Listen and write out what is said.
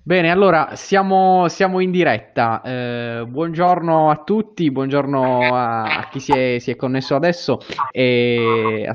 Bene, allora siamo in diretta. Buongiorno a tutti, buongiorno a chi si è connesso adesso e